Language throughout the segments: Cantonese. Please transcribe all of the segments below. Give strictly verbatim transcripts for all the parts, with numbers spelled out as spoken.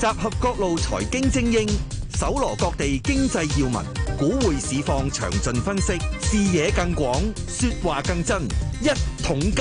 集合各路財經精英，搜羅各地經濟要聞，股匯市況詳盡分析，視野更廣，說話更真。一桶金。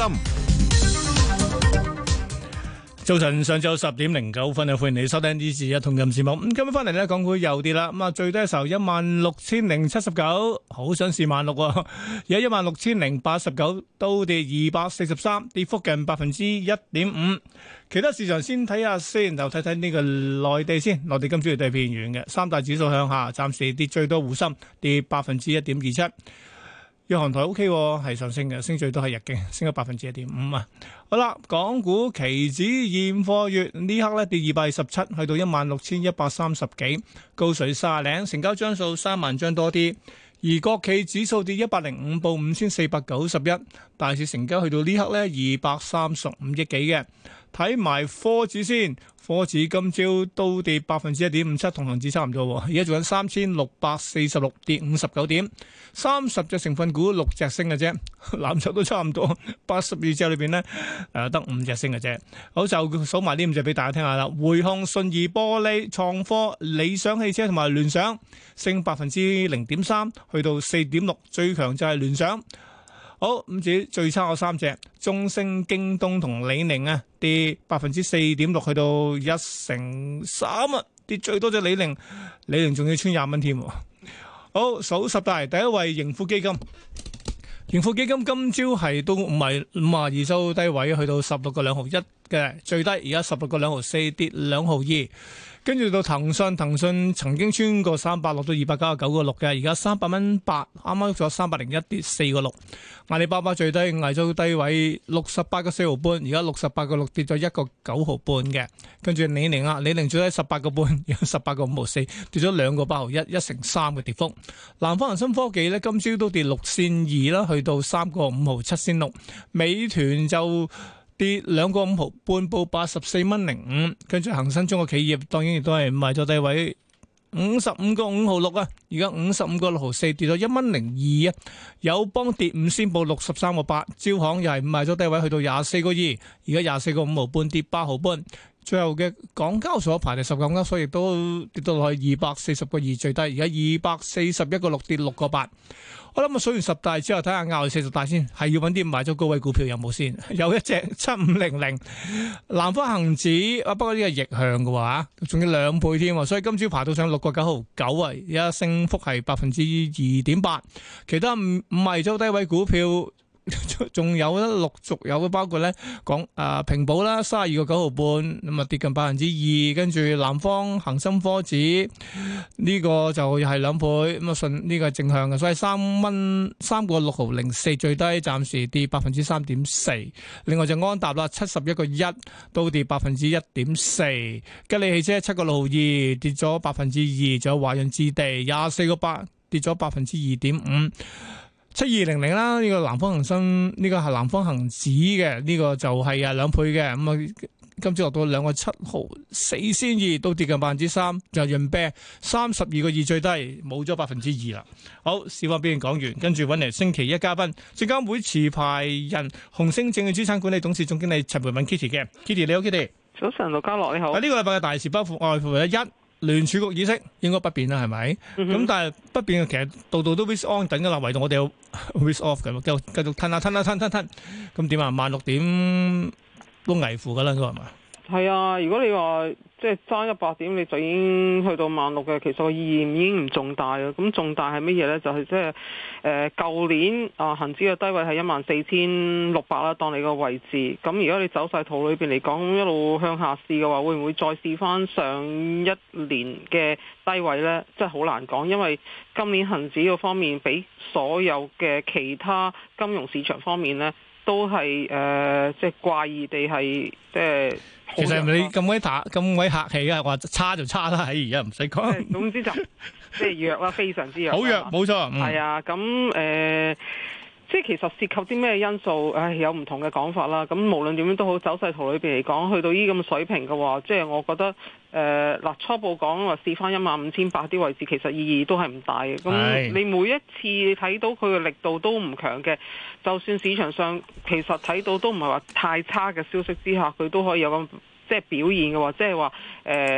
早晨，上晝十點零九分啊，歡迎你收聽呢次一桶金節目。咁今日翻嚟咧，港股又跌啦。咁啊，最低嘅時候一萬六千零七十九，好想試萬六喎。而家一萬六千零八十九，都跌二百四十三，跌幅近百分之一點五。其他市場先睇下先，就睇睇呢個內地先。內地今朝亦都係偏軟嘅，三大指數向下，暫時跌最多滬深跌百分之一點二七。日韓台 O K 係上升嘅，升最多係日經，升咗百分之一點五啊。好啦，港股期指現貨月呢刻咧跌二百二十七，去到一萬六千一百三十幾，高水卅零，成交張數三萬張多啲。而國企指數跌一百零五，報五千四百九十一，大市成交去到呢刻咧二百三十五億幾嘅。睇埋科指先，科指今朝都跌百分之一點五七，同恒指差唔多。而家做緊三千六百四十六，跌五十九點，三十隻成分股六隻升嘅啫，藍籌都差唔多。八十二隻裏邊呢，誒得五隻升嘅啫。好，就數埋呢五隻俾大家聽下啦。匯控、信義玻璃、創科、理想汽車同埋聯想升百分之零點三，去到四點六，最強就係聯想。好，咁至於最差嗰三隻，中升、京東同李寧啊，跌百分之四點六，去到一成三啊，跌最多隻李寧，李寧仲要穿廿蚊添。好，數十大第一位盈富基金，盈富基金今朝係都唔係五十二周低位，去到十六個兩毫一嘅最低，而家十六個兩毫四，跌兩毫二。跟住到騰訊，騰訊曾經穿過三百，落到二百九十九個六嘅，而家三百蚊八，啱啱喐咗三百零一，跌四個六。阿里巴巴最低，捱咗低位六十八個四毫半，而家六十八個六，跌咗一個九毫半嘅。跟住李寧啊，李寧最低十八個半，而家十八個五毫四，跌咗兩個八毫一，一成三嘅跌幅。南方恒生科技呢，今朝都跌六仙二啦，去到三個五毫七仙六。美團就跌兩個五毫半，報八十四蚊零五。跟住恒生中國企業當然亦都係賣咗低位五十五個五毫六啊，而家五十五個六毫四，跌咗一蚊零二啊。友邦跌五仙，報六十三個八。招行又係賣咗低位，去到廿四個二，而家廿四個五毫半，跌八毫半。最後嘅港交所排第十，港交所亦都跌到落去二百四十個二最低，而家二百四十一個六，跌六個八。我諗啊，數完十大之後，睇下拗四十大先，係要揾啲買咗高位股票有冇先？有一隻七五零零南方恒指啊，不過呢個逆向嘅話，仲要兩倍添，所以今朝爬到上六個九毫九啊，而家升幅係百分之二點八。其他五五係周低位股票。仲有咧，陸續有嘅，包括咧講誒平保啦，三十二個九毫半，咁啊跌近百分之二，跟住南方恒生科指呢個就又係兩倍，咁啊順呢個係正向嘅，所以三蚊三個六毫零四最低，暫時跌百分之三點四。另外就安踏啦，七十一個一都跌百分之一點四，吉利汽車七個六毫二跌咗百分之二，仲有華潤置地廿四個八跌咗百分之二點五。七二零零啦，呢個南方恒生呢、這個係南方恒指嘅，呢、這個就係啊兩倍嘅，咁啊今朝落到兩個七毫四仙二，都跌近百分之三，就潤啤三十二個二最低，冇咗百分之二啦。好，市況表現講完，跟住揾嚟星期一嘉賓，證監會持牌人紅星證券資產管理董事總經理陳培敏 Kitty 嘅 Kitty， 你好 Kitty。 早晨，陸家樂你好。 喺呢個禮拜嘅大事包括外乎一。聯儲局議息應該不變啦，係咪？咁、嗯、但係不變嘅其實度度都 risk on 等㗎啦，唯獨我哋有 risk off 嘅，繼續繼續吞下吞下吞吞吞，咁點啊？萬六點都危乎㗎啦，應該係嘛？係啊，如果你話即係爭一百點，你就已經去到萬六嘅，其實個意義已經唔重大啦。咁重大係乜嘢咧？就係即係誒舊年啊，恆指嘅低位係一萬四千六百啦，當你個位置。咁如果你走勢圖裏邊嚟講，一路向下試嘅話，會唔會再試翻上一年嘅低位咧？真係好難講，因為今年恆指個方面比所有嘅其他金融市場方面咧，都係誒、呃、即係怪異地係即係。 其實你咁鬼打咁鬼客氣啊！話差就差啦，而家唔使講。 總之就即係弱啦，非常之弱。 好弱，冇錯。 係啊，咁誒、呃，即係其實涉及啲咩因素？唉，有唔同嘅講法啦。咁無論點樣都好，走勢圖裏邊嚟講，去到呢咁嘅水平嘅話，即係我覺得誒嗱、呃，初步講話試翻一萬五千八啲位置，其實意義都係唔大嘅。咁你每一次睇到佢嘅力度都唔強嘅，就算市場上其實睇到都唔係話太差嘅消息之下，佢都可以有咁即係表現嘅話，即係話誒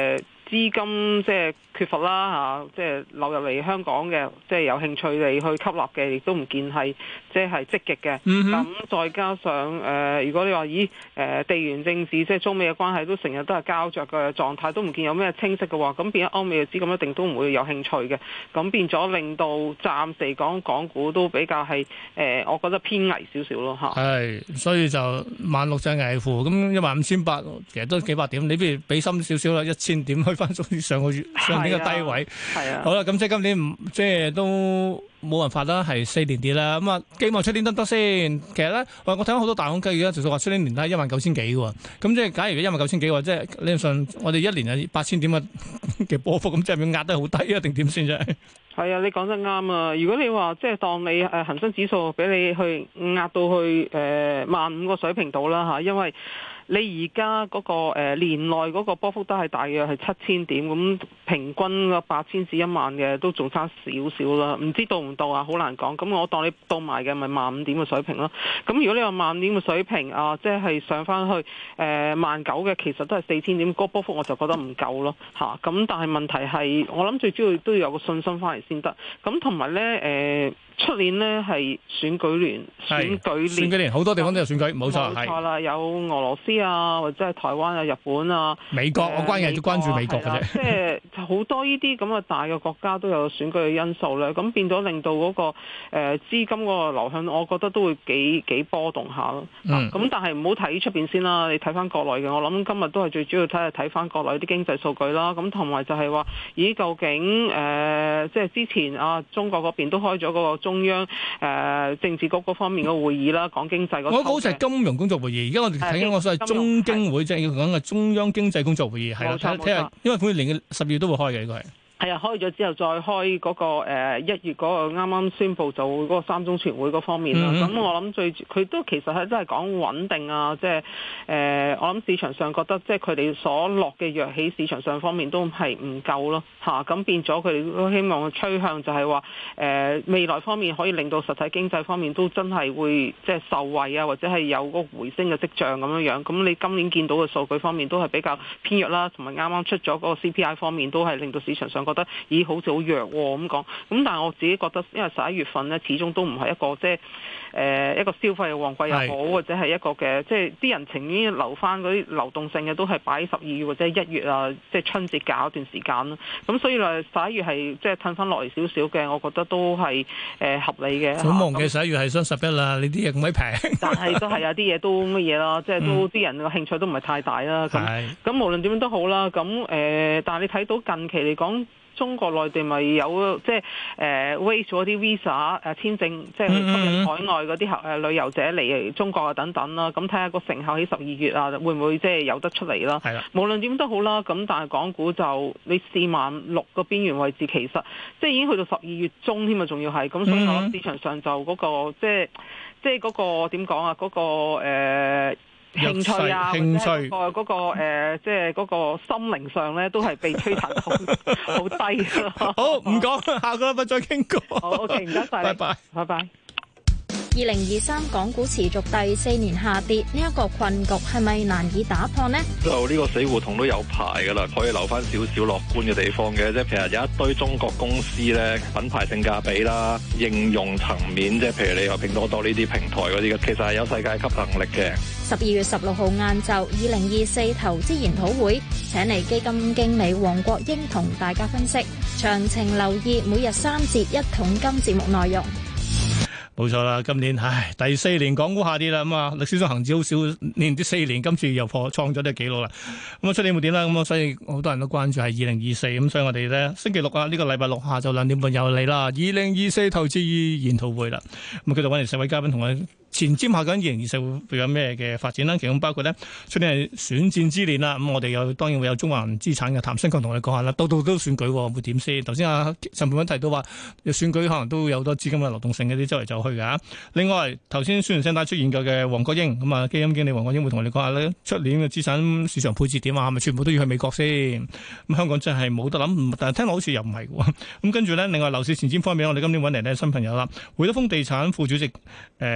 資金即係缺乏啦嚇，即係流入嚟香港嘅，即係有興趣嚟去吸納嘅，亦都唔見係即係積極嘅。咁、嗯、再加上誒、呃，如果你話咦誒地緣政治即係中美嘅關係都成日都係膠着嘅狀態，都唔見有咩清晰嘅話，咁變咗歐美嘅資金一定都唔會有興趣嘅。咁變咗令到暫時講港股都比較係誒、呃，我覺得偏危少少咯嚇。 係，所以就萬六就危乎，咁一萬五千八其實都幾百點，你不如俾深少少啦，一千點去翻上個月上年嘅低位。係啊，好啦，咁即係今年唔即係都冇辦法啦，係四年跌啦。咁啊，希望出年得唔得先？其實咧，我我睇到好多大行計而家就話出年年底一萬九千幾嘅喎。咁即係假如一萬九千幾嘅話，即係理論上我哋一年係八千點嘅嘅波幅，咁即係咪壓得好低啊？定點先啫？ 係啊，你講得啱啊！如果你話即係當你誒恆生指數俾你去壓到去誒萬五個水平度啦嚇，因為你而家嗰個誒、呃、年內嗰個波幅都係大約係七千點，咁平均個八千至一萬嘅都仲差少少啦，唔知到唔到啊？好難講。咁我當你到埋嘅咪萬五點嘅水平咯。咁如果你話萬五點嘅水平啊，即係上翻去誒萬九嘅，其實都係四千點，嗰個波幅我就覺得唔夠咯嚇。咁、啊、但係問題係，我諗最主要都要有個信心翻嚟先得。咁同埋咧誒。呃出年呢係選舉年，選舉年， 選舉年好多地方都有選舉，冇錯， 冇錯啦，有俄羅斯啊，或者係台灣啊、日本啊、 美國，我關係都關注美國嘅啫。 即係好多呢啲咁嘅大嘅國家都有選舉嘅因素咧，咁變咗令到嗰個誒資金嗰個流向，我覺得都會幾幾波動下咯。咁、嗯啊、但係唔好睇出邊先啦，你睇翻國內嘅，我諗今日都係最主要睇係睇翻國內啲經濟數據啦。咁同埋就係話，咦，究竟誒、呃、即係之前啊，中國嗰邊都開咗嗰個中央誒、呃、政治局嗰方面嘅會議啦，講經濟嗰。我好似係金融工作會議，而家我哋睇緊我所謂中經會，即係要講嘅中央經濟工作會議，係啦，睇下，因為每年嘅十月都會開嘅，呢個係。 係啊，開咗之後再開嗰、那個誒一、呃、月嗰個啱啱宣布就嗰個三中全會嗰方面啦。咁、嗯、我諗最佢都其實係真係講穩定啊，即係誒我諗市場上覺得即係佢哋所落嘅藥喺市場上方面都係唔夠咯嚇。咁、啊、變咗佢哋都希望趨向就係話誒未來方面可以令到實體經濟方面都真係會即係受惠啊，或者係有嗰個回升嘅跡象咁樣樣。咁你今年見到嘅數據方面都係比較偏弱啦，同埋啱啱出咗嗰個 C P I 方面都係令到市場上覺得咦好似好弱喎咁講，咁但係我自己覺得，因為十一月份咧始終都唔係一個即係誒一個消費嘅旺季又好，或者係一個嘅即係啲人情願留翻嗰啲流動性嘅都係擺喺十二月或者一月啊，即係春節假一段時間咯。咁所以咧十一月係即係褪翻落嚟少少嘅，我覺得都係誒、呃、合理嘅。 好忙嘅十一月係雙十一啦，你啲嘢咁鬼平， 但係都係有啲嘢都乜嘢啦，即係都啲、嗯、人嘅興趣都唔係太大啦。咁咁無論點樣都好啦，咁誒、呃，但係你睇到近期嚟講。中國內地咪有即係誒 waive 咗啲 visa 誒簽證，即係吸引海外嗰啲誒旅遊者嚟中國啊等等啦。咁睇下個成效喺十二月啊，會唔會即係有得出嚟啦？係啦，無論點都好啦。咁但係港股就你四萬六個邊緣位置，其實即係已經去到十二月中添啊，仲要係咁，所以我諗市場上就嗰、那個即係即係嗰個點講啊，嗰、那個誒。呃興趣啊，興趣或者嗰、那個嗰、呃、即係嗰個心靈上咧，都係被摧殘到好低咯。 好，唔講，下個禮拜再傾過。 好 OK，唔該晒，拜拜，拜拜。 二零二三港股持續第四年下跌，呢、這、一個困局係咪難以打破呢？ 就呢個死胡同都有排噶啦，可以留翻少少樂觀嘅地方嘅，即係譬如有一堆中國公司咧，品牌性價比啦，應用層面，即係譬如你話拼多多呢啲平台嗰啲嘅，其實係有世界級能力嘅。 十二月十六號晏晝，二零二四投資研討會，請嚟基金經理黃國英同大家分析，詳情留意每日三節一桶金節目內容。 冇錯啦，今年唉第四年港股下跌啦，咁啊歷史上恒指好少連跌四年，今次又破創咗啲紀錄啦。咁啊出年會點啦？咁啊所以好多人都關注係二零二四，咁所以我哋咧星期六啊呢、這個禮拜六下晝兩點半又嚟啦，二零二四投資研討會啦。咁啊繼續揾嚟四位嘉賓同我前瞻下緊二零二四會有咩嘅發展啦？其中包括咧出年係選戰之年啦，咁我哋又當然會有中環資產嘅譚新強同我哋講下啦。到到都選舉會點先？頭先阿陳培文提到話，選舉可能都有好多資金嘅流動性嗰啲周圍走去㗎。另外頭先宣傳聲帶出現過嘅黃國英，咁啊基金經理黃國英會同我哋講下咧，出年嘅資產市場配置點啊？係咪全部都要去美國先？咁香港真係冇得諗，但係聽落好似又唔係喎。咁跟住咧，另外樓市前瞻方面，我哋今年揾嚟呢新朋友啦，會德豐地產副主席誒、呃、兼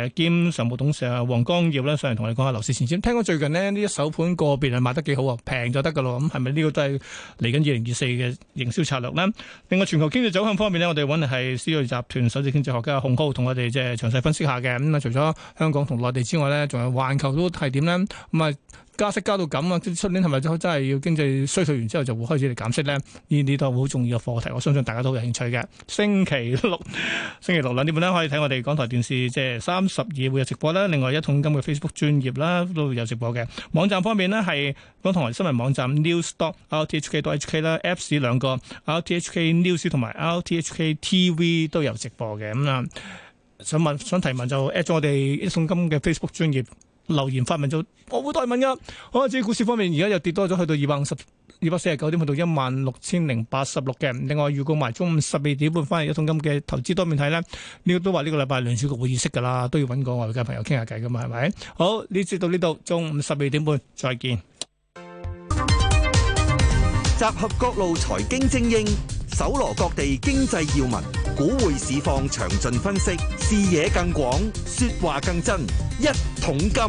行常務董事啊黃光耀咧上嚟同我哋講下樓市前瞻。聽講最近呢，呢一手盤個別係賣得幾好啊，平就得噶咯。咁係咪呢個都係嚟緊二零二四嘅營銷策略呢？另外全球經濟走向方面呢，我哋揾嚟係思睿集團首席經濟學家洪浩同我哋即係詳細分析下嘅。咁啊，除咗香港同內地之外呢，仲有環球都係點呢？咁啊。加息加到咁啊！出年係咪真係要經濟衰退完之後就會開始嚟減息咧？呢啲都係好重要嘅課題，我相信大家都好有興趣嘅。星期六，星期六兩點半咧可以睇我哋港台電視即係三十二會有直播啦。另外一桶金嘅 Facebook 專頁啦都有直播嘅。網站方面呢，係港台新聞網站 news dot r t h k dot h k 啦 ，Apps 兩個 R T H K News 同埋 R T H K T V 都有直播嘅。咁啊，想問想提問就 at 咗我哋一桶金嘅 Facebook 專頁。留言發問就我會代問噶。好，至於股市方面，而家又跌多咗，去到二百五十、二百四十九點，去到一萬六千零八十六嘅。另外預告埋中午十二點半翻嚟一桶金嘅投資多面睇咧，呢個都話呢個禮拜聯儲局會議息噶啦，都要揾個外界朋友傾下偈噶嘛，係咪？好，呢節到呢度，中午十二點半再見。 集合各路財經精英，搜羅各地經濟要聞，股匯市況詳盡分析，視野更廣，說話更真。一桶金，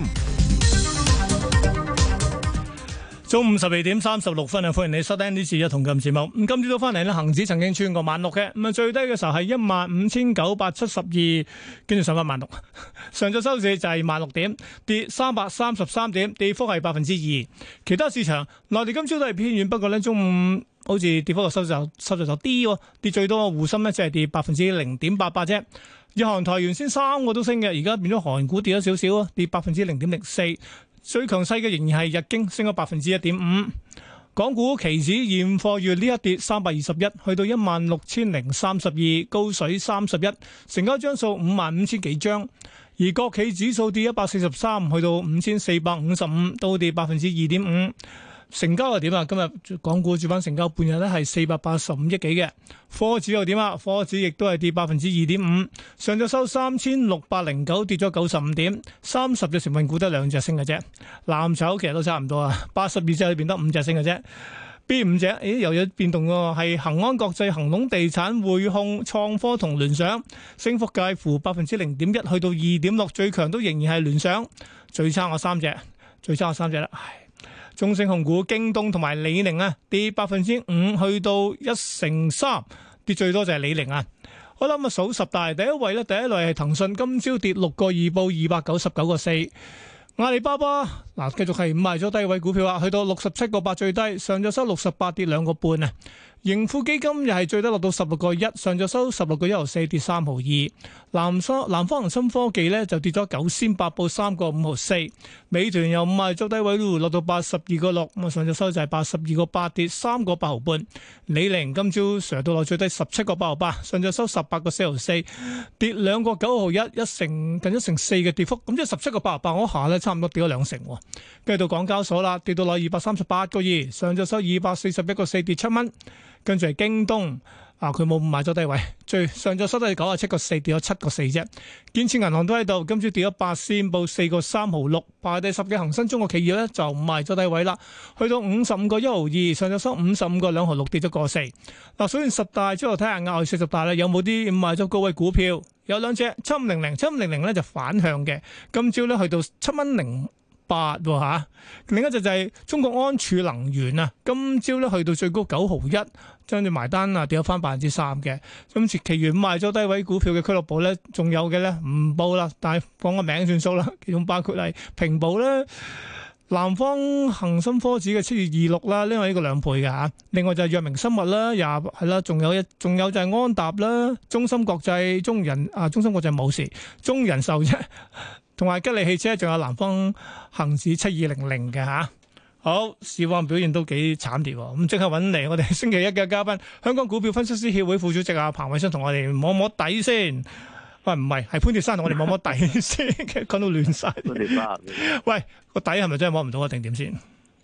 中午十二點三十六分啊！歡迎你收聽呢次一桶金節目。咁今朝早翻嚟咧，恒指曾經穿過萬六嘅，咁啊最低嘅時候係一萬五千九百七十二，跟住上翻萬六。上晝收市就係萬六點，跌三百三十三點，跌幅係百分之二。其他市場，內地今朝都係偏軟，不過咧中午好似跌幅個收就收就就啲，跌最多嘅滬深咧即係跌百分之零點八八啫。日韓台原先三個都升嘅，而家變咗韓股跌咗少少啊，跌百分之零點零四。最強勢嘅仍然係日經，升咗百分之一點五。港股期指現貨月呢一跌三百二十一，去到一萬六千零三十二，高水三十一，成交張數五萬五千幾張。而國企指數跌一百四十三，去到五千四百五十五，都跌百分之二點五。成交又點啊？今日港股主板成交半日咧係四百八十五億幾嘅。科指又點啊？科指亦都係跌百分之二點五。上晝收三千六百零九，跌咗九十五點。三十隻成分股得兩隻升嘅啫。藍籌其實都差唔多啊，八十二隻裏邊得五隻升嘅啫。邊五隻？誒又有變動喎，係恒安國際、恒隆地產、匯控、創科同聯想，升幅介乎百分之零點一去到二點六，最強都仍然係聯想。最差我三隻，最差我三隻啦。唉。中升控股、京東同埋李寧啊，跌百分之五，去到一成三，跌最多就係李寧啊。好啦，咁啊數十大第一位咧，第一類係騰訊，今朝跌六個二，報二百九十九個四。阿里巴巴嗱，繼續係賣咗低位股票啊，去到六十七個八最低，上晝收六十八，跌兩個半啊。盈富基金又係最低落到十六個一，上晝收十六個一毫四，跌三毫二。南方南方恒生科技咧就跌咗九仙八，報三個五毫四。美團又唔係做低位咯，落到八十二個六，咁啊上晝收就係八十二個八，跌三個八毫半。李寧今朝上到落最低十七個八毫八，上晝收十八個四毫四，跌兩個九毫一，一成近一成四嘅跌幅。咁即係十七個八毫八嗰下咧，差唔多跌咗兩成。跟住到港交所啦，跌到落二百三十八個二，上晝收二百四十一個四，跌七蚊。跟住係京東，啊佢冇買咗低位，最上晝收都係九十七個四，跌咗七個四啫。建設銀行都喺度，今朝跌咗八仙，報四個三毫六。排第十嘅恒生中國企業咧就唔賣咗低位啦，去到五十五個一毫二，上晝收五十五個兩毫六，跌咗個四。嗱，數完十大之後睇下額外四十大咧，有冇啲賣咗高位股票？有兩隻七五零零，七五零零咧就反向嘅，今朝咧去到七蚊零八喎嚇。另一隻就係中國安儲能源啊，今朝咧去到最高九毫一，將住埋單啊跌咗翻百分之三嘅。今次其餘賣咗低位股票嘅俱樂部咧，仲有嘅咧唔報啦，但係講個名算數啦。其中包括係平保咧、南方恒生科指嘅七月二六啦，呢個呢個兩倍嘅嚇。另外就係藥明生物啦，廿係啦，仲有一仲有就係安踏啦、中芯國際、中人啊、中芯國際冇事，中人壽啫。同埋吉利汽車，仲有南方恒指七二零零嘅嚇。好，市況表現都幾慘烈喎。咁即刻揾嚟我哋星期一嘅嘉賓，香港股票分析師協會副主席阿彭偉新同我哋摸摸底先。喂，唔係，係潘鐵珊同我哋摸摸底先，講到亂晒。潘鐵珊，喂，個底係咪真係摸唔到啊？定點先？誒、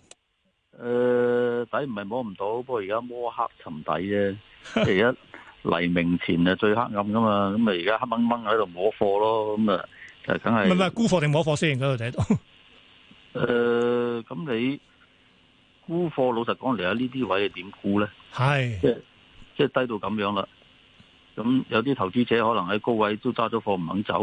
呃，底唔係摸唔到，不過而家摸黑沉底啫。即係而家黎明前啊最黑暗噶嘛，咁啊而家黑掹掹喺度摸貨咯，咁啊。誒，梗係唔係唔係沽貨定摸貨先？嗰度睇到。誒、 呃，咁你沽貨，老實講嚟，喺呢啲位係點沽咧？係，即係即係低到咁樣啦。咁有啲投資者可能喺高位都揸咗貨唔肯走，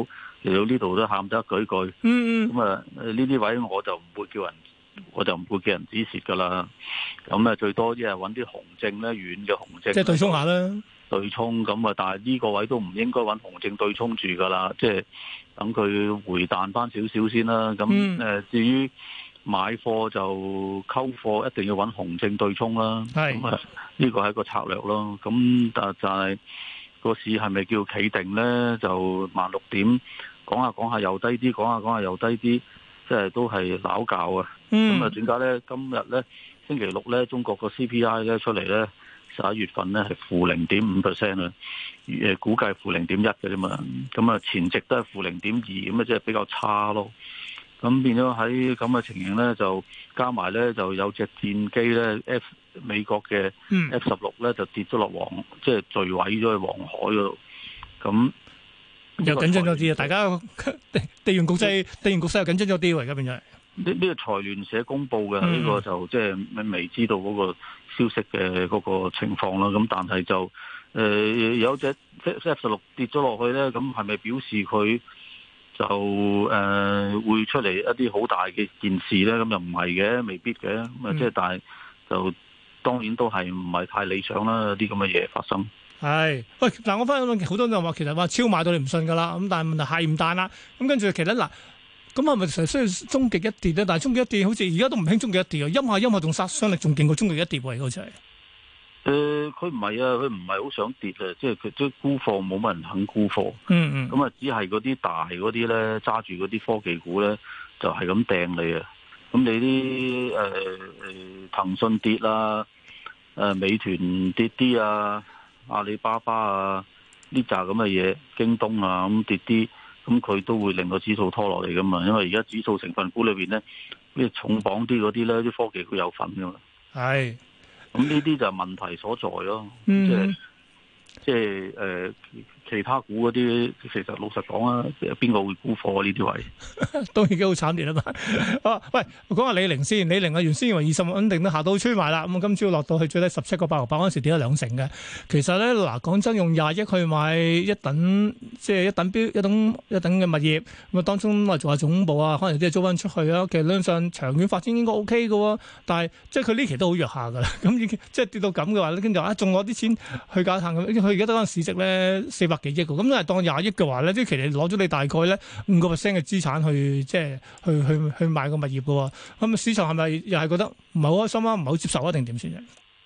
嚟到呢度都喊得一句句。 嗯嗯。 咁啊呢啲位我就唔會叫人，我就唔會叫人止蝕噶啦。咁啊最多啲係揾啲紅證咧，遠嘅紅證。 即係對沖下啦。 對沖咁啊，但係呢個位都唔應該揾紅證對沖住噶啦，即係等佢回彈翻少少先啦。咁誒、 嗯呃，至於買貨就溝貨，一定要揾紅證對沖啦。 係咁啊，呢個係一個策略咯。咁但就係個市係咪叫企定呢？就萬六點講下講下又低啲，講下講下又低啲，即係都係拗教啊。咁啊、嗯，點解呢？今日呢，星期六呢，中國個 C P I 咧出嚟呢。十一月份咧係負零點五 percent 啊，誒估計負零點一嘅啫嘛，咁啊前值都係負零點二，咁啊即係比較差咯。咁變咗喺咁嘅情形咧，就加埋咧就有隻戰機咧 F 美國嘅 F 十六咧就跌咗落黃，即係墜毀咗去黃海嗰度。咁又緊張咗啲啊！大家地地緣局勢、地緣局勢又緊張咗啲喎，而家變咗。 呢呢個財聯社公佈嘅呢個就即係未知道嗰個消息嘅嗰個情況啦。咁但係就誒、呃、有隻 F 十六跌咗落去咧，咁係咪表示佢就誒、呃、會出嚟一啲好大嘅件事咧？咁又唔係嘅，未必嘅。咁啊即係但係就當然都係唔係太理想啦，啲咁嘅嘢發生。 係，喂嗱，我翻好多人話其實話超買到你唔信噶啦，咁但係問題係唔彈啦。咁跟住其實嗱。咁係咪成日需要終極一跌咧？但係終極一跌好似而家都唔興終極一跌啊！陰下陰下仲殺傷力仲勁過終極一跌喎，好似係。誒， 佢唔係啊，佢唔係好想跌啊，即係佢即係沽貨冇乜人肯沽貨。 嗯嗯。 咁啊，只係嗰啲大嗰啲咧，揸住嗰啲科技股咧，就係咁掟你啊！咁你啲誒誒騰訊跌啦，誒、呃、美團跌啲啊，阿里巴巴啊呢扎咁嘅嘢，京東啊咁跌啲。咁佢都會令個指數拖落嚟噶嘛，因為而家指數成分股裏邊咧，啲重磅啲嗰啲咧，啲科技股有份噶嘛。係，咁呢啲就係問題所在咯。嗯、即係即係誒、呃，其他股嗰啲，其實老實講啊，邊個會沽貨呢啲位？都已經好慘烈啦嘛。啊，喂，講下李寧先，李寧啊，原先以為二十穩定都下到吹埋啦，咁今朝落到去最低十七個八毫八嗰陣時跌咗兩成嘅。其實咧，嗱，講真，用廿億去買一等，即係一等標一等一等嘅物業，咁啊當中話做下總部啊，可能啲租翻出去啊，其實理論上長遠發展應該 O K 嘅喎。但係即係佢呢期都好弱下㗎啦，咁已經即係跌到咁嘅話，跟住話仲攞啲錢去搞探咁，佢而家得翻市值咧四百幾億喎，咁但係當廿億嘅話咧，即係其實攞咗你大概咧五個 percent 嘅資產去即係去去去買個物業嘅喎，咁市場係咪又係覺得唔係好開心啊，唔係好接受啊，定點先？誒、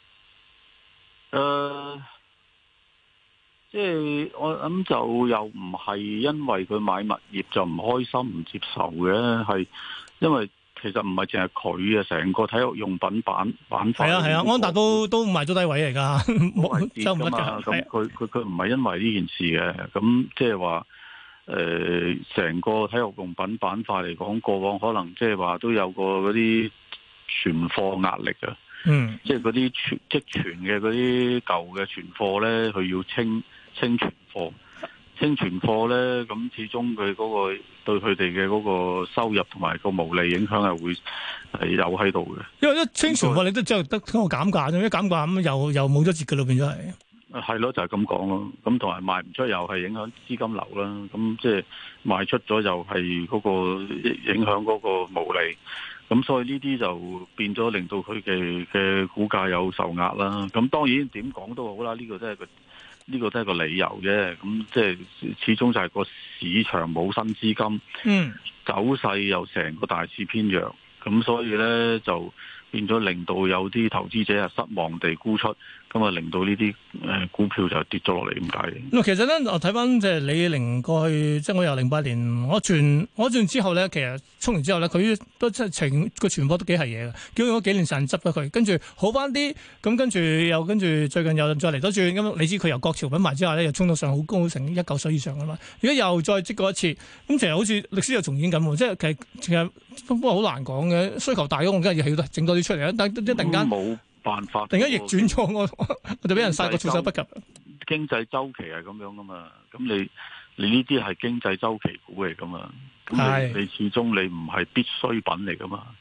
呃，即係我諗就又唔係因為佢買物業就唔開心唔接受嘅，係因為其實唔係淨係佢啊，成個體育用品板板塊係啊係啊，安踏都都賣咗低位嚟㗎，冇跌㗎嘛。咁佢佢佢唔係因為呢件事嘅，咁即係話誒成個體育用品板塊嚟講，過往可能即係話都有個嗰啲存貨壓力啊。嗯，即係嗰啲存積存嘅嗰啲舊嘅存貨咧，佢要清清存貨，清存貨咧，咁始終佢嗰個對佢哋嘅嗰個收入同埋個毛利影響係會係有喺度嘅。因為一清存貨，你都只係得嗰個減價啫，一減價咁又又冇咗折嘅咯，變咗係。係咯，就係咁講咯。咁同埋賣唔出又係影響資金流啦。咁即係賣出咗又係嗰個影響嗰個毛利。咁所以呢啲就變咗令到佢嘅嘅股價有受壓啦。咁當然點講都好啦，呢個都係個呢個都係個理由啫。咁即係始終就係個市場冇新資金，嗯，走勢又成個大市偏弱，咁所以呢，就變咗令到有啲投資者係失望地沽出。咁啊，令到呢啲誒股票就跌咗落嚟咁解。咁其實咧，我睇翻即係李寧過去，即係我由零八年我轉我轉之後咧，其實衝完之後咧，佢都即係情個傳播都幾係嘢嘅。叫咗幾年時間執咗佢，跟住好翻啲，咁跟住又跟住最近又再嚟多轉。咁你知佢由國潮品牌之後咧，又衝到上好高成一嚿水以上噶嘛。而家又再積過一次，咁其實好似歷史又重演緊喎。即係其實其實不過好難講嘅，需求大咗，我梗係要起整多啲出嚟啦。但係一突然間冇辦法，突然間逆轉咗，我我就俾人殺個措手不及。經濟周期係咁樣噶嘛，咁你你呢啲係經濟周期股嚟噶嘛，咁你你始終你唔係必需品嚟噶嘛，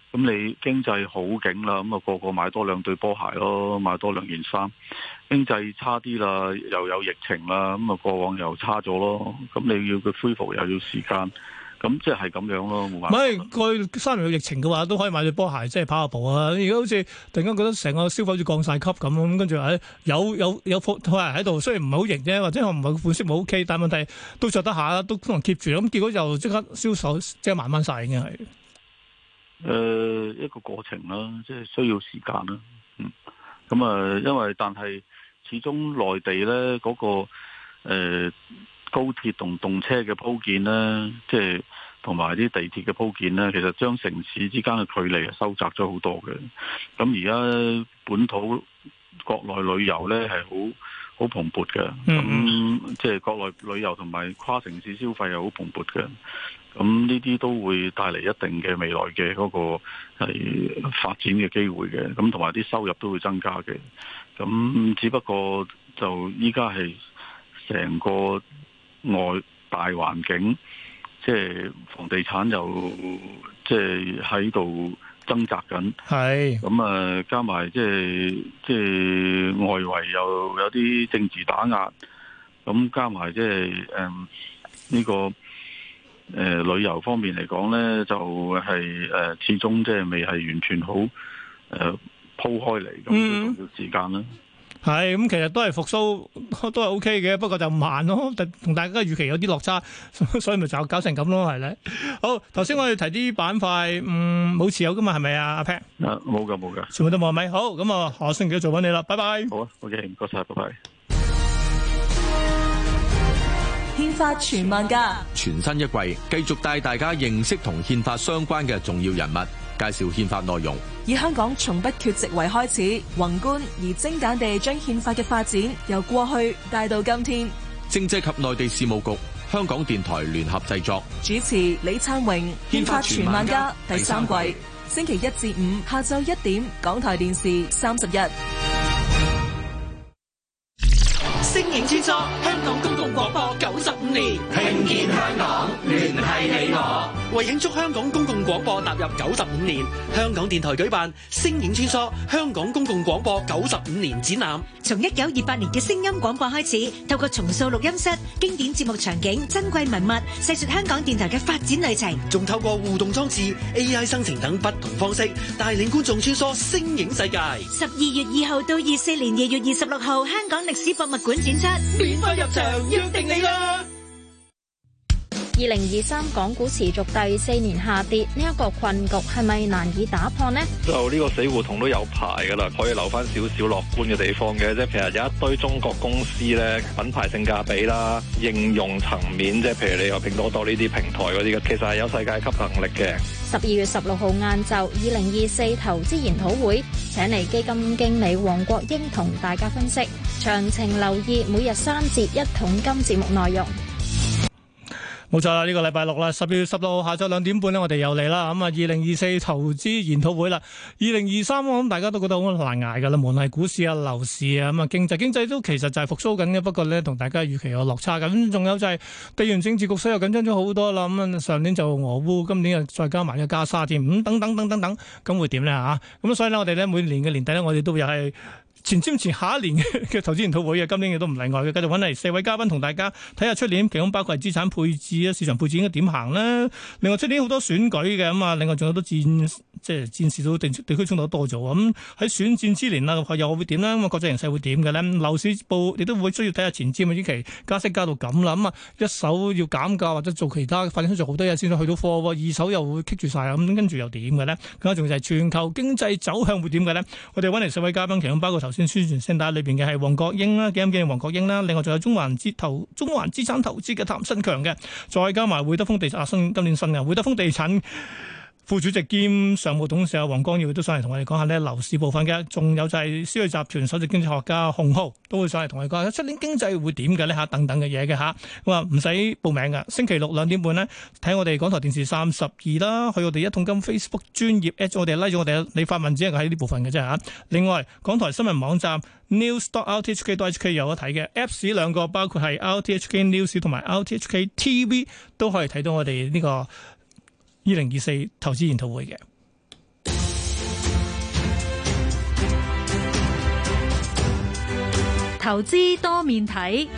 咁你經濟好景啦，咁啊個個買多兩對波鞋咯，買多兩件衫。經濟差啲啦，又有疫情啦，咁啊過往又差咗咯。咁你要佢恢復又要時間，咁即係咁樣咯，冇辦法。 唔係過去三年有疫情嘅話，都可以買對波鞋，即係跑下步啊！而家好似突然間覺得成個消費好似降晒級咁，咁跟住誒有有有貨鞋喺度，雖然唔係好型啫，或者我唔係款式唔 OK，但係問題都着得下，都可能 keep 住，咁結果就即刻銷售即係慢慢晒已經係。 誒、呃，一個過程啦，即係需要時間啦。嗯，咁啊，因為但係始終內地咧嗰、那個誒、呃、高鐵同動車嘅鋪建咧，即係同埋啲地鐵嘅鋪建咧，其實將城市之間嘅距離收窄咗好多嘅。咁而家本土國內旅遊咧係好好蓬勃嘅，咁、嗯、即係國內旅遊同埋跨城市消費係好蓬勃嘅。咁呢啲都會帶嚟一定嘅未來嘅嗰個係發展嘅機會嘅，咁同埋啲收入都會增加嘅。咁只不過就依家係成個外大環境，即係房地產又即係喺度掙扎緊。係咁啊，加埋即係即係外圍又有啲政治打壓，咁加埋即係誒呢個。誒、呃，旅遊方面嚟講呢，就係、是、誒、呃，始終即係未係完全好誒鋪開嚟，咁都要時間啦。係咁，其實都係復甦，都係 O K 嘅，不過就慢咯，同大家預期有啲落差，所以咪就搞成咁咯，係咧。好，頭先我哋提啲板塊，嗯，冇持有噶嘛，係咪啊？阿 Pat，冇噶冇噶，全部都冇係咪？好，咁啊，下星期做翻你啦，拜拜。好啊 ，O K，唔該晒，拜拜。 憲法全萬家， 全新一季繼續帶大家認識同憲法相關嘅重要人物，介紹憲法內容。 以香港從不缺席為開始，宏觀而精簡地將憲法嘅發展由過去帶到今天。 政制及內地事務局、香港電台聯合製作， 主持李燦榮。憲法全萬家第三季，星期一至五下晝一點，港台電視三十一。 聲影穿梭香港公共廣播九十五年，聽見香港，聯繫你我。為慶祝香港公共廣播踏入九十五年，香港電台舉辦聲影穿梭香港公共廣播九十五年展覽。 從一九二八年嘅聲音廣播開始，透過重塑錄音室、經典節目場景、珍貴文物，細說香港電台嘅發展旅程。 仲透過互動裝置、A I 生成等不同方式，帶領觀眾穿梭聲影世界。 十二月二號到二四年二月二十六號，香港歷史博物館展出， 免費入場，約定你啦！ 二零二三港股持續第四年下跌，呢、這、一個困局係咪難以打破呢？ 就呢個死胡同都有排噶啦，可以留翻少少樂觀嘅地方嘅，即係其實有一堆中國公司咧，品牌性價比啦、應用層面，即係譬如你話拼多多呢啲平台嗰啲嘅，其實係有世界級能力嘅。 十二月十六號晏晝，二零二四投資研討會請嚟基金經理黃國英同大家分析，詳情留意每日三節一桶金節目內容。 冇錯啦，呢、這個禮拜六啦，十二月十六號下晝兩點半咧，我哋又嚟啦。咁啊，二零二四投資研討會啦，二零二三我諗大家都覺得好難捱噶啦，無論係股市啊、樓市啊，咁啊經濟經濟都其實就係復甦緊嘅，不過咧同大家預期有落差。咁仲有就係地緣政治局勢又緊張咗好多啦。咁啊上年就俄烏，今年又再加埋個加沙添，咁等等等等等，咁會點咧嚇？咁所以咧，我哋咧每年嘅年底咧，我哋都又係前瞻前下一年嘅投資研討會嘅，今年亦都唔例外嘅。繼續揾嚟四位嘉賓同大家睇下出年，其中包括係資產配置啊、市場配置應該點行啦。另外出年好多選舉嘅，咁啊，另外仲有好多戰，即係戰事都地地區衝突多咗。咁喺選戰之年啦，又會點咧？咁啊，國際形勢會點嘅咧？樓市部亦都會需要睇下前瞻啊，呢期加息加到咁啦，咁啊，一手要減價或者做其他發展商做好多嘢先去到貨，二手又會棘住晒，咁跟住又點嘅咧？咁啊，仲就係全球經濟走向會點嘅咧？我哋揾嚟四位嘉賓，其中包括頭先宣傳聲帶裏邊嘅係黃國英啦，基金經理黃國英啦，另外仲有中環資投中環資產投資嘅譚新強嘅，再加埋會德豐地產新今年新嘅會德豐地產副主席兼常務董事黃光耀都上嚟同我哋講下呢樓市部分嘅，仲有就係思睿集團首席經濟學家洪浩都會上嚟同我哋講下出年經濟會點嘅呢吓等等嘅嘢嘅吓，咁啊唔使報名噶，星期六兩點半呢，睇我哋港台電視三十二啦，去我哋一桶金 Facebook 專頁 at 我哋拉咗我哋，你發文只係喺呢部分嘅啫吓。另外港台新聞網站 news dot r t h k dot h k 有得睇嘅 Apps 兩個，包括係 R T H K News 同埋 R T H K T V 都可以睇到我哋呢個二零二四投資研討會嘅。 投資多面睇。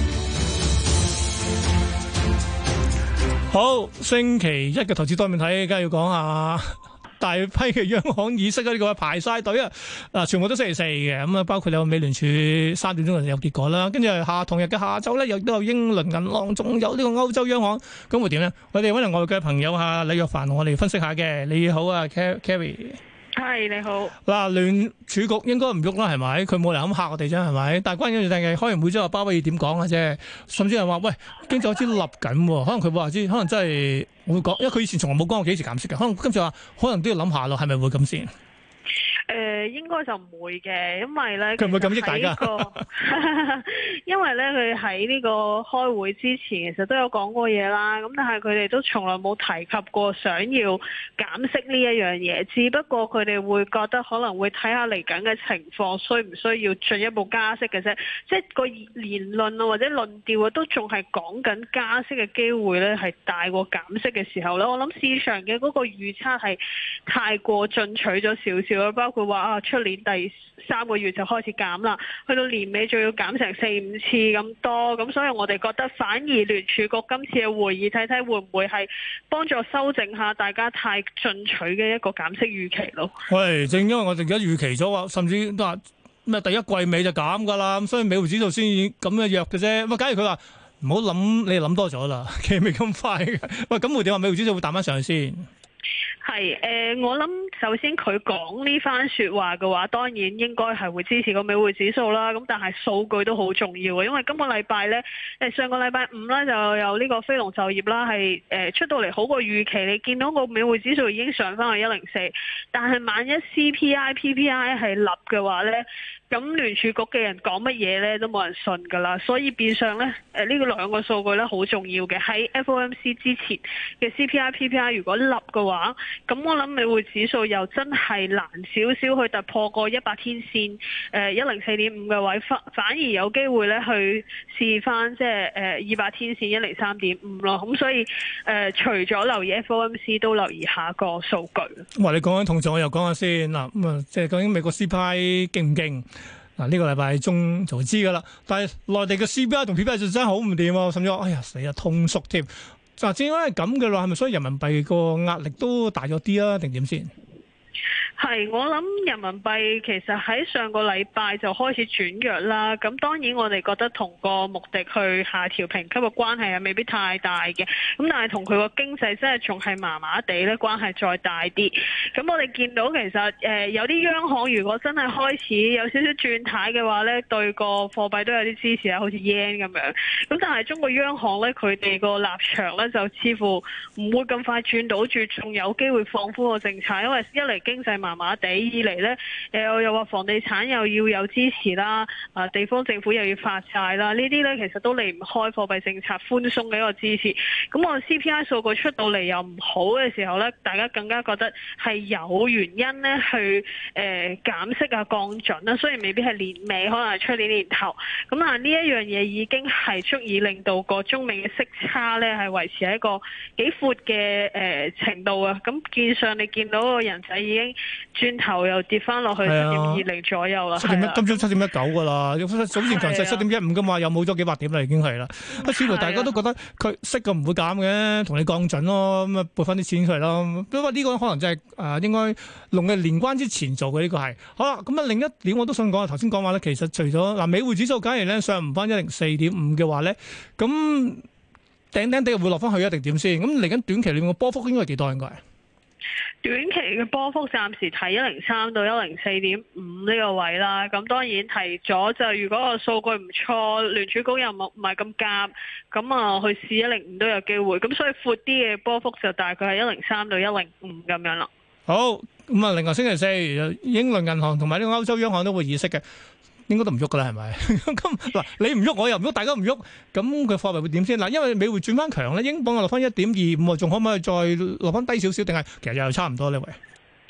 好，星期一嘅投資多面睇，梗係要講下大批嘅央行議息啊！呢個排晒隊啊，嗱，全部都星期四嘅，咁啊，包括有美聯儲三點鐘就有結果啦，跟住下同日嘅下晝咧，亦都有英倫銀行，仲有呢個歐洲央行，咁會點呢？我哋揾嚟外嘅朋友嚇李若凡同我哋分析下嘅。你好啊 Carrie。 係你好。 嗱，聯儲局應該唔喐啦，係咪？佢冇嚟咁嚇我哋啫，係咪？但係關鍵就係開完會之後，鮑威爾點講嘅啫？甚至係話喂，經濟開始立緊，可能佢話知，可能真係會講，因為佢以前從來冇講過幾時減息嘅，可能今次話可能都要諗下咯，係咪會咁先？ 誒、呃，應該就唔會嘅，因為咧佢唔會咁益大家。 因為咧，佢喺呢個開會之前，其實都有講過嘢啦。咁但係佢哋都從來冇提及過想要減息呢一樣嘢，只不過佢哋會覺得可能會睇下嚟緊嘅情況，需唔需要進一步加息嘅啫。即係個言論啊或者論調啊，都仲係講緊加息嘅機會咧，係大過減息嘅時候咧。我諗市場嘅嗰個預測係太過進取咗少少啦，包括話啊，出年第三個月就開始減啦，去到年尾仲要減成四五次咁多，咁所以我哋覺得反而聯儲局今次嘅會議睇睇會唔會係幫助修正下大家太進取嘅一個減息預期咯。 喂，正因為我哋而家預期咗話，甚至都話咩第一季尾就減㗎啦，咁所以美匯指數先咁嘅弱嘅啫。咁假如佢話唔好諗，你諗多咗啦，其實未咁快嘅。喂，咁會點話美匯指數會彈翻上去先？ 係誒、呃，我諗首先佢講呢番説話嘅話，當然應該係會支持個美匯指數啦。咁但係數據都好重要嘅，因為今個禮拜咧，誒上個禮拜五咧就有呢個非農就業啦，係誒、呃、出到嚟好過預期。你見到個美匯指數已經上翻去一零四，但係萬一 C P I、P P I 係立嘅話咧，咁聯儲局嘅人講乜嘢咧都冇人信㗎啦。所以變相咧，誒呢個兩個數據咧好重要嘅。喺 F O M C 之前嘅 C P I、P P I 如果立嘅話，咁我諗美匯指數又真係難少少去突破個一百天線，誒一零四點五嘅位，反反而有機會咧去試翻即係誒二百天線一零三點五咯。咁所以誒、呃、除咗留意 F O M C， 都留意下個數據。 哇！你講緊同時，我又講下先嗱，咁啊，即係究竟美國 C P I 勁唔勁？嗱，呢個禮拜中就知㗎啦。但係內地嘅 C P I 同 P P I 就真係好唔掂喎，甚至話哎呀死啊通縮添。嗱，正因為咁嘅話，係咪所以人民幣個壓力都大咗啲啊？定點先？ 係，我諗人民幣其實喺上個禮拜就開始轉弱啦。咁當然我哋覺得同個目的去下調評級嘅關係係未必太大嘅。咁但係同佢個經濟真係仲係麻麻地咧，關係再大啲。咁我哋見到其實誒、呃、有啲央行如果真係開始有少少轉態嘅話咧，對個貨幣都有啲支持啊，好似 yen 咁樣。咁但係中國央行咧，佢哋個立場咧就似乎唔會咁快轉到住，仲有機會放寬個政策，因為一嚟經濟麻麻地，二嚟咧誒又話房地產又要有支持啦，啊地方政府又要發債啦，呢啲咧其實都離唔開貨幣政策寬鬆嘅一個支持。咁我 C P I 數據出到嚟又唔好嘅時候咧，大家更加覺得係有原因咧去誒、呃、減息啊降準啦，雖然未必係年尾，可能係出年年頭。咁啊呢一樣嘢已經係足以令到個中美嘅息差咧係維持喺一個幾闊嘅誒程度啊。咁見上你見到個人仔已經轉頭又跌翻落去七點二零左右啦， 七點一，今朝七點一九噶啦，早前強勢七點一五噶嘛，又冇咗幾百點啦，已經係啦。啊，似乎大家都覺得佢息嘅唔會減嘅，同你降準咯，咁啊撥翻啲錢出嚟咯。不過呢個可能就係、是、誒、呃、應該農曆年關之前做嘅呢、這個係。好啦，咁啊另一點我都想講啊，頭先講話咧，其實除咗嗱、呃、美匯指數假如咧上唔翻一零四點五嘅話咧，咁頂頂地會落翻去一定點先？咁嚟緊短期裏面個波幅應該係幾多應該？ 短期嘅波幅暫時睇一零三到一零四點五呢個位啦，咁當然提咗就如果個數據唔錯，聯儲局又唔係咁夾，咁啊去試一零五都有機會，咁所以闊啲嘅波幅就大概係一零三到一零五咁樣啦。好， 咁啊，另外星期四英倫銀行同埋呢個歐洲央行都會議息嘅。應該都唔喐噶啦，係咪？咁嗱，你唔喐，我又唔喐，大家唔喐，咁佢貨幣會點先？嗱，因為美匯轉翻強咧，英鎊落翻一點二五，仲可唔可以再落翻低少少？定係其實又差唔多呢位？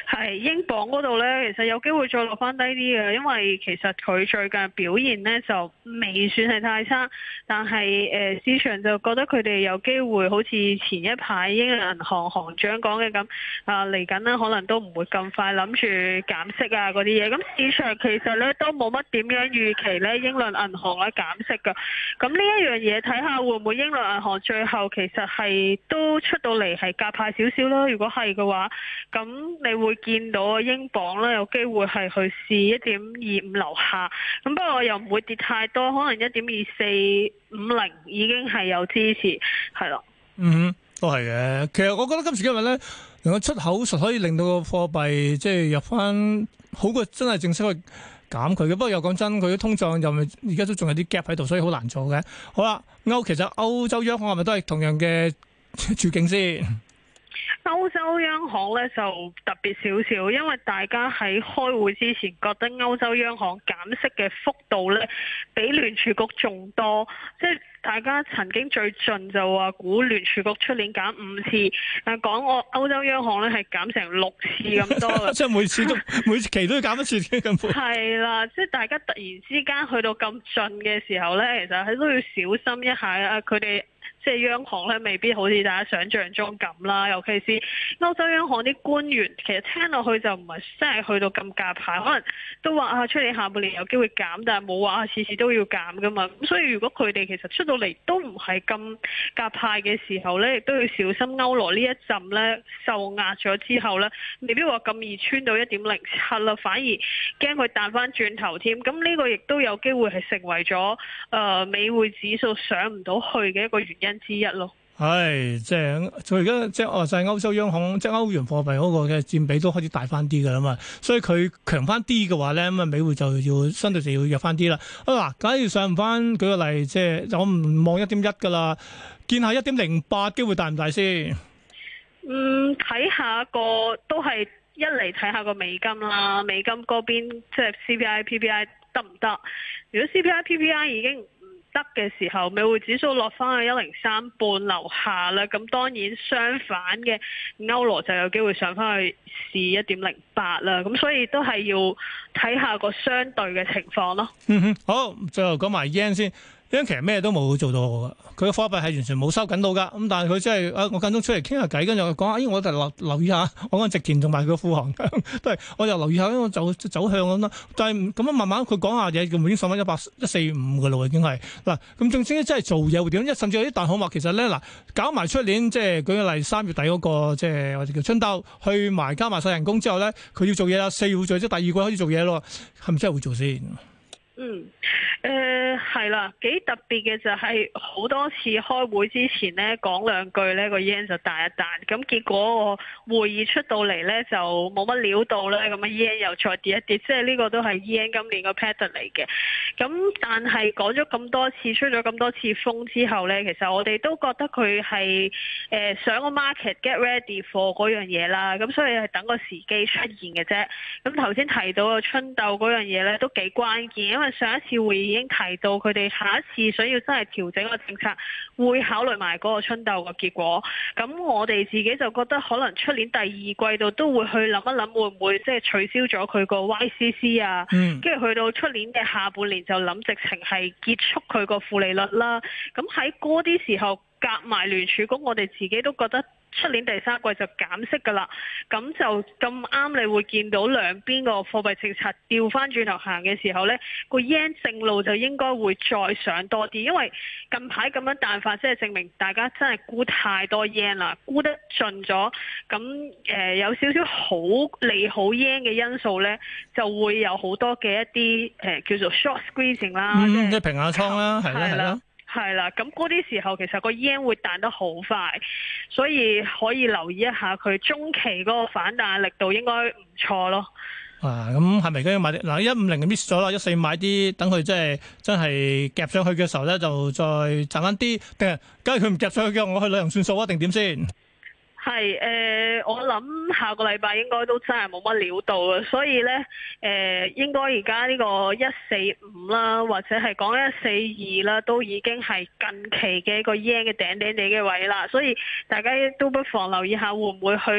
係英鎊嗰度咧，其實有機會再落翻低啲嘅，因為其實佢最近表現咧就未算係太差，但係誒、呃、市場就覺得佢哋有機會好似前一排英倫銀行行長講嘅咁，啊嚟緊呢可能都唔會咁快諗住減息啊嗰啲嘢，咁市場其實咧都冇乜點樣預期咧英倫銀行咧減息㗎，咁呢一樣嘢睇下會唔會英倫銀行最後其實係都出到嚟係鴿派少少啦，如果係嘅話，咁你會見到英鎊咧有機會係去試一點二五樓下，咁不過又唔會跌太多，可能一點二四五零已經係有支持，係咯。 嗯，都係嘅。其實我覺得今時今日咧，能夠出口術可以令到個貨幣即係入翻好過真係正式去減佢嘅。不過又講真，佢啲通脹又而家都仲有啲 gap 喺度，所以好難做嘅。好啦，歐其實歐洲央行係咪都係同樣嘅處境先？ 歐洲央行咧就特別少少，因為大家喺開會之前覺得歐洲央行減息嘅幅度咧比聯儲局仲多，即係大家曾經最盡就話估聯儲局出年減五次，但講我歐洲央行咧係減成六次咁多嘅， 即係每次都每期都要減一次嘅咁闊。 係啦，即係大家突然之間去到咁盡嘅時候咧，其實係都要小心一下啊！佢哋。即係央行咧，未必好似大家想象中咁啦。尤其是歐洲央行啲官員，其實聽落去就唔係真係去到咁鴿派，可能都話啊，出年下半年有機會減，但係冇話次次都要減噶嘛。咁所以如果佢哋其實出到嚟都唔係咁鴿派嘅時候咧，亦都要小心歐羅呢一陣咧受壓咗之後咧，未必話咁易穿到一點零七啦，反而驚佢彈翻轉頭添。咁呢個亦都有機會係成為咗誒、呃、美匯指數上唔到去嘅一個原因之一咯。 係，即係佢而家即係話晒歐洲央行即係歐元貨幣嗰個嘅佔比都開始大翻啲㗎啦嘛，所以佢強翻啲嘅話咧，咁啊美匯就要相對就要弱翻啲啦。啊嗱，假如上唔翻，舉個例，即係我唔望一點一㗎啦，見下一點零八機會大唔大先？ 嗯，睇下個都係一嚟睇下個美金啦，美金嗰邊即係 C P I P P I 得唔得？如果 C P I P P I 已經得嘅時候，美匯指數落翻去一零三半樓下啦，咁當然相反嘅歐羅就有機會上翻去試一點零八啦，咁所以都係要睇下個相對嘅情況咯。 嗯哼，好，最後講埋 yen 先。因為其實咩都冇做到嘅，佢嘅貨幣係完全冇收緊到噶。咁但係佢真係，啊我間中出嚟傾下偈，跟住講下，咦、哎、我就留留意下，我講植田同埋佢副行都係，我又留意下，我走走向咁啦。但係咁樣慢慢佢講下嘢，佢已經上翻一百一四五嘅咯，已經係嗱。咁正正真係做嘢會點？一甚至有啲大行話，其實咧嗱，搞埋出年即係舉個例，三月底嗰、那個即係我哋叫春鬥，去埋加埋晒人工之後咧，佢要做嘢啦，四月會做，即係第二季開始做嘢咯，係咪真係會做先？ 嗯，誒係啦，幾特別嘅就係好多次開會之前咧講兩句咧個 yen 就彈一彈，咁結果個會議出到嚟咧就冇乜料到咧，咁啊 yen 又再跌一跌，即係呢個都係 yen 今年個 pattern 嚟嘅。咁但係講咗咁多次，出咗咁多次風之後咧，其實我哋都覺得佢係誒想個 market get ready for 嗰樣嘢啦，咁所以係等個時機出現嘅啫。咁頭先提到個春鬥嗰樣嘢咧都幾關鍵，因為上一次會議已經提到佢哋下一次想要真係調整個政策，會考慮埋嗰個春鬥嘅結果。咁我哋自己就覺得可能出年第二季度都會去諗一諗，會唔會即係取消咗佢個 Y C C 啊？跟住、嗯、去到出年嘅下半年就諗直情係結束佢個負利率啦。咁喺嗰啲時候夾埋聯儲局，我哋自己都覺得出年第三季就減息噶啦，咁就咁啱你會見到兩邊個貨幣政策調翻轉頭行嘅時候呢，個 yen 正路就應該會再上多啲，因為近排咁樣彈法，即係證明大家真係沽太多 yen 啦，沽得盡咗，咁誒、呃、有少少好利好 yen 嘅因素呢，就會有好多嘅一啲誒、呃、叫做 short squeezing 啦， 嗯、即係平下倉啦，係啦係啦。 係啦，咁嗰啲時候其實個 yen 會彈得好快，所以可以留意一下佢中期嗰個反彈力度應該唔錯咯。 啊，咁係咪而家要買啲？嗱，一五零就 miss 咗啦，一四買啲，等佢即係真係夾上去嘅時候咧，就再賺翻啲。定係，假如佢唔夾上去嘅，我去旅行算數啊？定點先？ 係誒、呃，我諗下個禮拜應該都真係冇乜料到嘅，所以咧誒、呃，應該而家呢個一四五啦，或者係講一四二啦，都已經係近期嘅一個 yen 嘅頂頂地嘅位啦，所以大家都不妨留意下會唔會去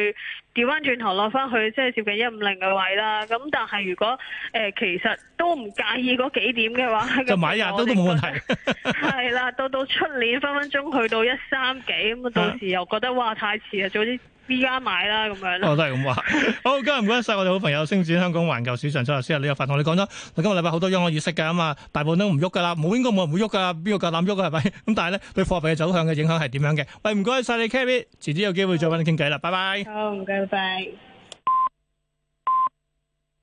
調翻轉頭落翻去即係接近一五零嘅位啦。咁但係如果誒、呃、其實都唔介意嗰幾點嘅話， 就買日都都冇問題。 係啦，到到出年分分鐘去到一三幾咁啊，到時又覺得哇太遲啊，早啲依家買啦咁樣。 我都係咁話。好，今日唔該晒我哋好朋友星展香港環球市場策略師李若凡同你講咗，今個禮拜好多央行議息㗎，咁啊大部分都唔喐㗎啦，冇應該冇人會喐㗎，邊個夠膽喐啊？係咪？咁但係咧對貨幣嘅走向嘅影響係點樣嘅？喂，唔該晒你 Kerry，遲啲有機會再揾你傾偈啦，拜拜。 好，唔該，拜拜。